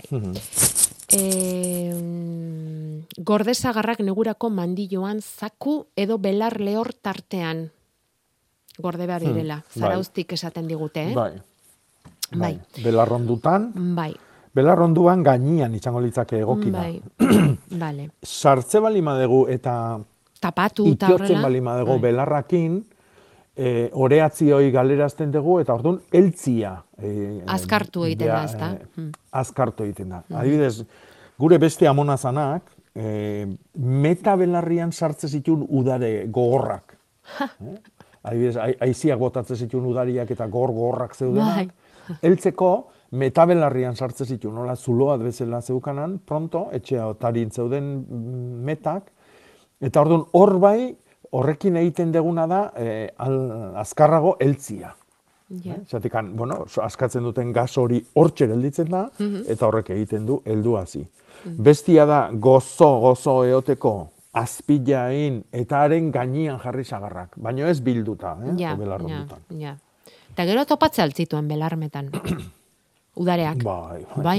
Gordezagarrak negurako mandilloan zaku edo belar lehor tartean. Gorde behar direla, zarauztik esaten digute, Bai. Belarrondutan. Bai. Belarronduan gainian izango litzake egokina. Bai. Sartze balima dugu eta tapatu eta horrela. Itiotzen balima dugu belarrakin, oreatzioi galerazten dugu, eta orduan eltzia. Azkartu egiten da, ez da? Azkartu egiten da. Adibidez, gure beste amonazanak, meta belarrian sartze zituen udare gogorrak. Adibidez, aiziak botatzen zituen udariak eta gogorrak zeudenak. Eltzeko, meta belarrian sartze zituen, nola zuloa bezala zeukanan, pronto, etxea otarin zeuden metak, eta orduan hor bai, horrekin egiten deguna da azkarrago eltzia. Zatekan, askatzen duten gas hori hortxe gelditzen da, eta horrek egiten du helduazi. Bestia da gozo eoteko azpilain eta haren gainean jarri sagarrak, baina ez bilduta, belarrondutan. Eta gero topatzea altzituen belarmetan. Udareak. Bai,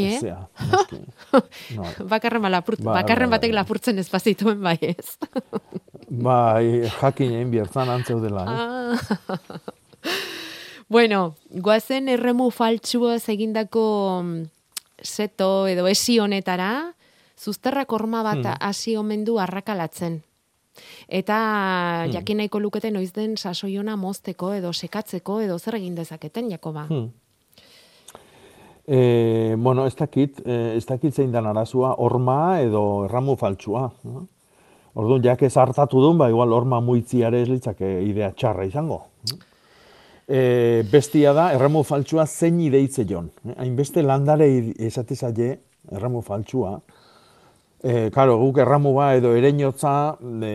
Bakarren batek lapurtzen ez bazituen, bai ez. Bai, jakin egin biertzan antzeudela. Bueno, goazen erremu faltsua egindako seto edo esi honetara, zuzterrak horma bat hasi omen du arrakalatzen. Eta jakin nahiko lukete noiz den sasoiona mozteko edo sekatzeko edo zer egin dezaketen, Jakoba? Ez dakit zein dan arazua, horma edo erramu faltsua. Orduan, jak ez hartatu duen, igual horma muitziare ez litzake idea txarra izango. Bestia da, erramu faltsua zein ideitze jon. Hainbeste landare esatezaile erramu faltsua. Karo, guk erramua edo ereinotza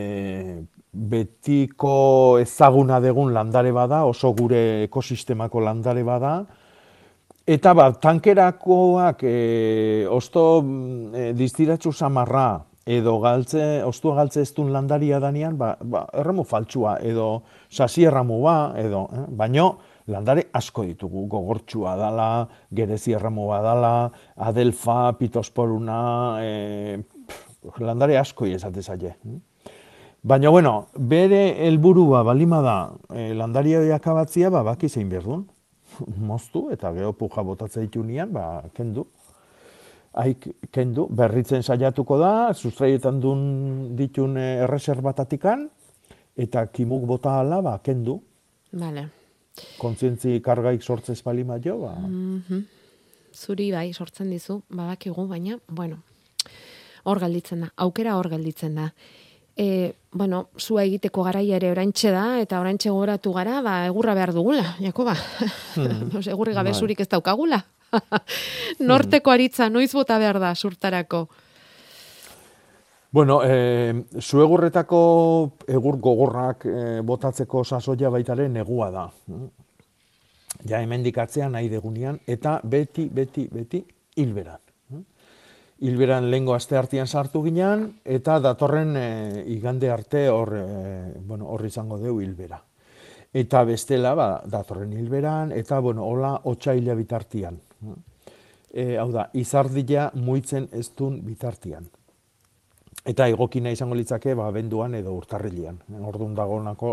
betiko ezaguna degun landare bada, oso gure ekosistemako landare bada, eta tankerakoak osto distiratxu samarra edo ostua galtze ez duen landaria danean, erramu faltsua edo sasi erramua edo, baino landare asko ditugu, gogortxua dala, gerezi erramua dala, adelfa, pitosporuna, landare asko esate zaie. Baina, bere helburua balima da landaria akabatzia, baki zein behar duen. Moztu eta gero puja botatzea ditunian, kendu. Kendu, berritzen saiatuko da, sustraietan duen ditun erreserbatatikan, eta kimuk bota ala, kendu. Vale. kontzientzi kargaik sortzez bali maio, ba... Zuri bai, sortzen dizu, badakigu, baina, bueno, hor gelditzen da, aukera hor gelditzen da. Bueno, zua egiteko garaia ere oraintxe da, eta oraintxe goratu gara, ba, egurra behar dugula, Jakoba. Egurri gabe zurik ez daukagula. Norteko aritza, noiz bota behar da, surtarako? Bueno, zuegurretako egur gogorrak botatzeko sasoia baitare negua da. Ja hemendik atzean nahi degunean, eta beti hilberan. Hilberan lehengo asteartean sartu ginean, eta datorren igande arte hor izango deu hilbera. Eta bestela, datorren hilberan, eta, hola, otsaila bitartian. Hau da, izardia muitzen ez duen bitartian. Eta egokina izango litzake, abenduan edo urtarrilean. Orduan dagoenako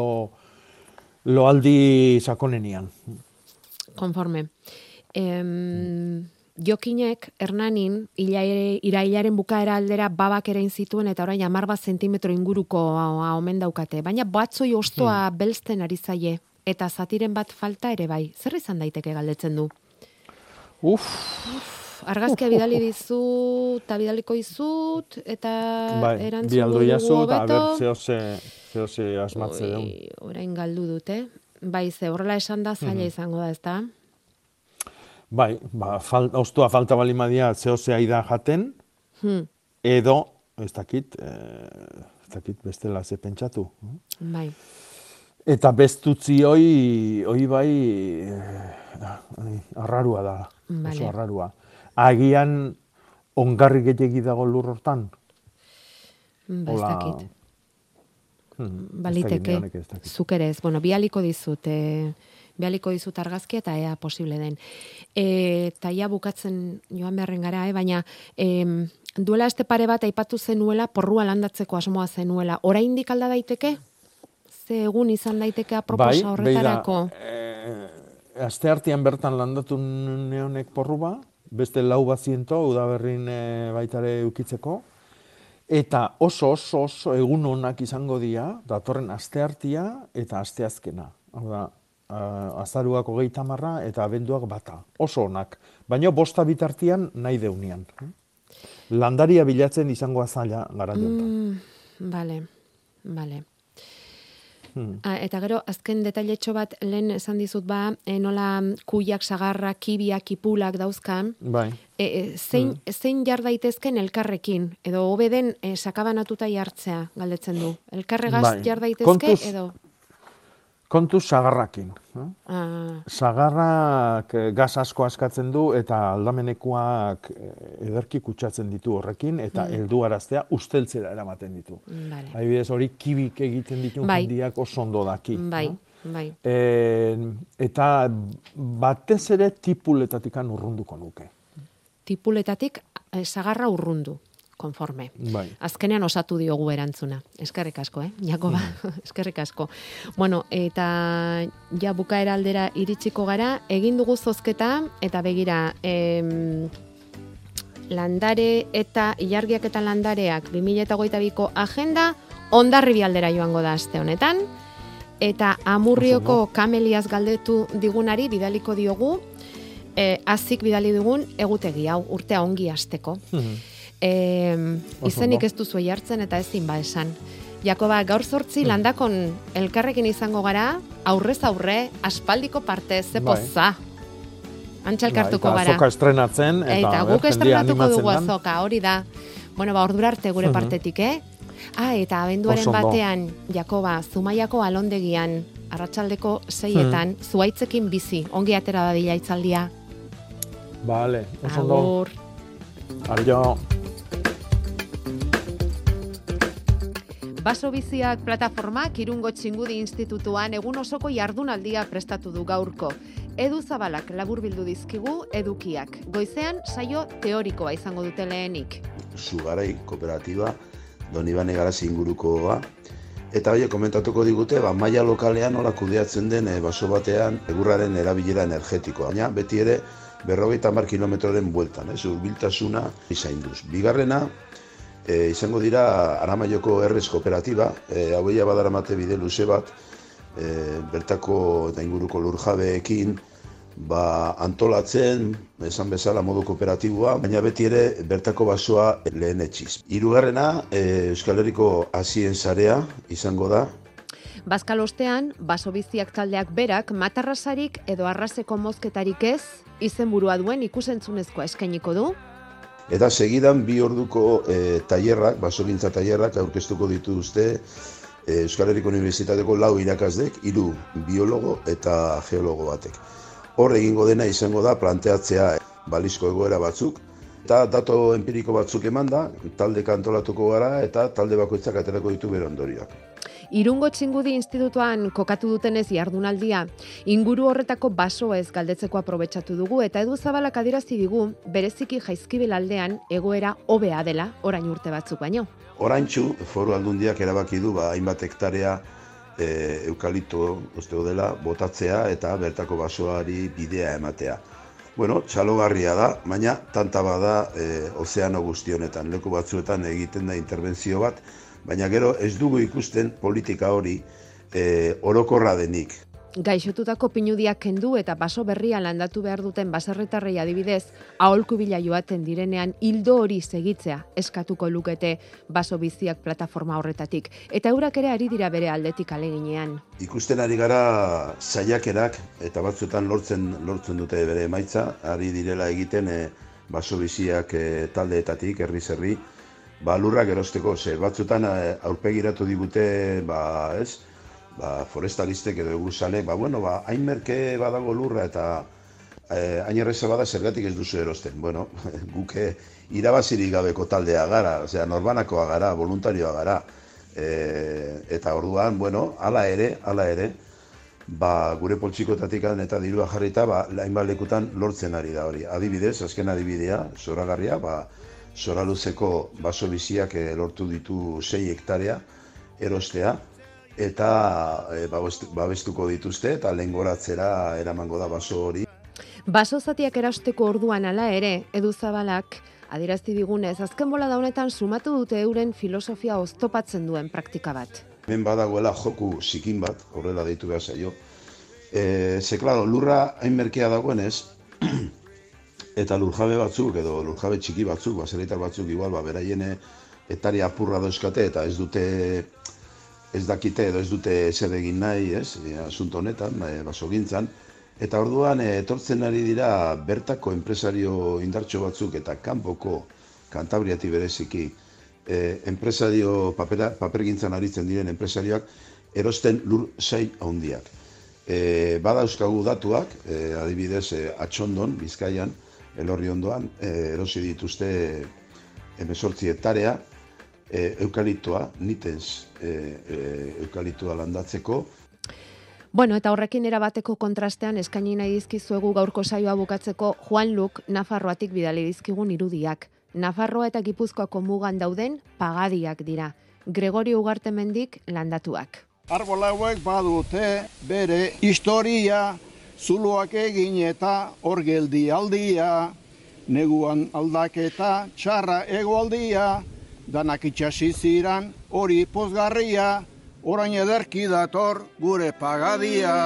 loaldi sakonenian. Konforme. Jokinek, Hernanin, irailaren bukaera aldera babak erain zituen, eta orain 10 zentimetro inguruko omen daukate. Baina batzoi ostoa belzten ari zaie, eta zatiren bat falta ere bai. Zer izan daiteke galdetzen du? Argazkia bidali dizu, eta bidaliko izut, eta erantzun dugu hobeto. Zehose asmatze dugu. Orain galdu dute. Bai, ze horrela esan da zaila izango da, ezta? Bai, oztua falta balimadia zehose aida jaten, edo, ez dakit bestela ze pentsatu. Bai. Eta bestutzi hoi bai arrarua da, oso arrarua. Agian ongarri gehiagi dago lur hortan? Ez dakit. Baliteke, zuk ere ez. Bueno, bialiko dizut argazkia eta ea posible den. Eta ja bukatzen joan beharren gara, baina duela este pare bat aipatu zenuela, porrua landatzeko asmoa zenuela. Oraindik alda daiteke? Ze egun izan daiteke aproposa horretarako? Asteartean bertan landatu neonek porrua, beste 400 udaberrin baitare ukitzeko, eta oso egun onak izango dira, datorren asteartia eta asteazkena. Hau da, azaruak 30 eta abenduak 1. Oso onak. Baina 5 bitartian nahi deunean. Landaria bilatzen izango azaila gara jontan. Bale. Eta gero, azken detailetxo bat lehen esan dizut nola kuiak, sagarrak, kibiak, kipulak dauzkan. Bai. Zein jar daitezken elkarrekin? Edo hobeden sakabanatuta jartzea galdetzen du. Elkarregaz jar daitezke edo... Kontuz sagarrakin. Sagarrak gas asko askatzen du eta aldamenekoak ederki kutsatzen ditu horrekin eta helduaraztea usteltzera eramaten ditu. Adibidez hori kibik egiten ditu jendiak oso ondo daki. Bai. Eta batez ere tipuletatik urrunduko nuke. Tipuletatik sagarra urrundu. Konforme. Bai. Azkenean osatu diogu erantzuna. Eskerrik asko, Jakoba? Eskerrik asko. Bueno, eta ja bukaera aldera iritsiko gara, egin dugu zozketa, eta begira, landare eta ilargiak eta landareak 2022ko agenda Hondarribi aldera joango da aste honetan, eta Amurrioko Kameliaz galdetu digunari bidaliko diogu, azik bidali dugun egutegi hau, urtea ongi hasteko. Izenik ez duzu jartzen eta ezin esan. Jakoba, gaur 8 landakon elkarrekin izango gara, aurrez aurre, aspaldiko parte, ze poza. Antxa elkartuko gara. Eta azoka estrenatzen. Eta guk estrenatuko dugu azoka, hori da. Bueno, ordura arte gure partetik, eta abenduaren batean, Jakoba, Zumaiako alondegian, arratsaldeko 6etan, zuaitzekin bizi, ongi atera dadila itzaldia. Vale, oso ondo. Agur. Adio. Baso Biziak plataformak Irungo Txingudi Institutuan egun osoko jardunaldia prestatu du gaurko. Edu Zabalak laburbildu dizkigu edukiak. Goizean saio teorikoa izango dute lehenik. Zugarai kooperatiba, Donibane Garazi ingurukoa. Eta hori komentatuko digute, maila lokalean nola kudeatzen den baso batean egurraren erabilera energetikoa. Baina beti ere 50 kilometroren bueltan, hurbiltasuna izainduz. Bigarrena, izango dira Aramaioko Errez kooperatiba, haueia badaramate bide luze bat, bertako eta inguruko lurjabeekin antolatzen, esan bezala modu kooperatiboa, baina beti ere bertako basoa lehenetsiz. Hirugarrena, Euskal Herriko hazien sarea izango da. Bazkalostean, baso biziak taldeak berak, matarrasarik edo arraseko mozketarik ez, izenburua duen ikusentzunezkoa eskainiko du. Eta segidan 2 orduko tailerrak, basogintza tailerrak aurkeztuko dituzte Euskal Herriko Unibertsitateko 4 irakaslek, 3 biologo eta geologo batek. Hor egingo dena izango da planteatzea balizko egoera batzuk, eta dato empiriko batzuk emanda, talde antolatuko gara eta talde bakoitzak aterako ditu bere ondorioak. Irungo Txingudi Institutuan kokatu dutenez jardunaldia, inguru horretako basoez galdetzeko aprobetxatu dugu eta Edu Zabalak adierazi digu bereziki Jaizkibel aldean egoera hobea dela orain urte batzuk baino. Oraintsu Foru Aldundiak erabaki du hainbat hektarea eukalipto dela botatzea eta bertako basoari bidea ematea. Bueno, txalogarria da, baina tanta bada ozeano guzti honetan, leku batzuetan egiten da interbentzio bat, baina gero ez dugu ikusten politika hori orokorra denik. Gaixotutako pinudiak kendu eta baso berria landatu behar duten baserritarrei adibidez, aholku bila joaten direnean hildo hori segitzea eskatuko lukete baso biziak plataforma horretatik. Eta eurak ere ari dira bere aldetik aleginean. Ikusten ari gara saiakerak eta batzuetan lortzen dute bere emaitza, ari direla egiten baso biziak taldeetatik, herriz herri, lurrak erosteko, batzuetan aurpegiratu digute, forestalistek edo egursalek, hain merke badago lurra eta hain erreza bada zergatik ez duzu erosten. Bueno, guke irabazirik gabeko taldea gara, norbanakoa gara, voluntarioa gara. Eta orduan, hala ere, gure poltsikotatik eta dirua jarrita, hainbat lekutan lortzen ari da hori. Adibidez, azken adibidea, zoragarria, Zoraluzeko baso biziak lortu ditu 6 hektarea erostea, eta babestuko dituzte eta lehengoratzera eramango da baso hori. Baso zatiak erosteko orduan hala ere, Edu Zabalak adierazi digunez, azken bolada honetan sumatu dute euren filosofia oztopatzen duen praktika bat. Hemen badagoela joku zikin bat, horrela deitu behar zaio. Klaro, lurra hain merkea dagoenez, eta lurjabe batzuk edo lurjabe txiki batzuk, baserritar batzuk igual, beraien etari apurra dauzkate eta ez dakite edo ez dute zer egin nahi, asunto honetan, basogintzan. Eta orduan etortzen ari dira bertako enpresario indartxo batzuk eta kanpoko Kantabriati bereziki enpresario papergintzan aritzen diren enpresarioak erosten lur sail handiak. Badauzkagu datuak, adibidez Atxondon, Bizkaian, Elorri ondoan, erosi dituzte 18 hektarea, eukaliptoa, nitens eukaliptoa landatzeko. Bueno, eta horrekin erabateko kontrastean eskaini nahi dizkizuegu gaurko saioa bukatzeko Juan Luk Nafarroatik bidali dizkigun irudiak. Nafarroa eta Gipuzkoako mugan dauden pagadiak dira. Gregorio Ugartemendik landatuak. Arbola hauek badute bere historia, zuluak egin eta hor geldi aldia, neguan aldaketa, txarra egoaldia, danak itxasi ziran hori pozgarria, orain ederki dator gure pagadia.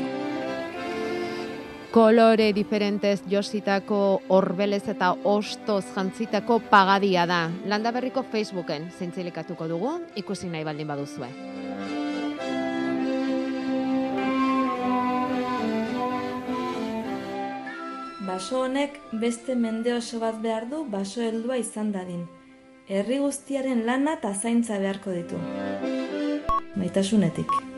Kolore diferentez jositako orbelez eta ostoz jantzitako pagadia da. Landaberriko Facebooken zintzilikatuko dugu, ikusi nahi baldin baduzue. Baso honek beste mende oso bat behar du baso heldua izan dadin. Herri guztiaren lana eta zaintza beharko ditu. Maitasunetik.